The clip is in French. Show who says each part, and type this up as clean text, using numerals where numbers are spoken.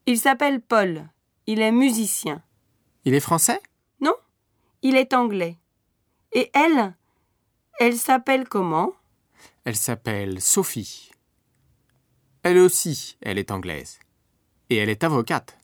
Speaker 1: Il s'appelle Paul. Il est musicien.
Speaker 2: Il est français?
Speaker 1: Non, il est anglais. Et elle s'appelle comment?
Speaker 2: Elle s'appelle Sophie. Elle aussi, elle est anglaise. Et elle est avocate.